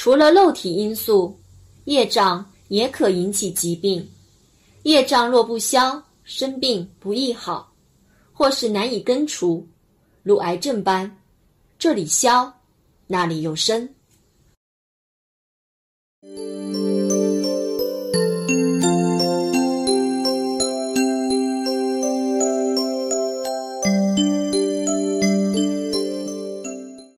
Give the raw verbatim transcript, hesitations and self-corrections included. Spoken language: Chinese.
除了肉体因素，业障也可引起疾病。业障若不消，生病不易好，或是难以根除，如癌症般，这里消，那里又生。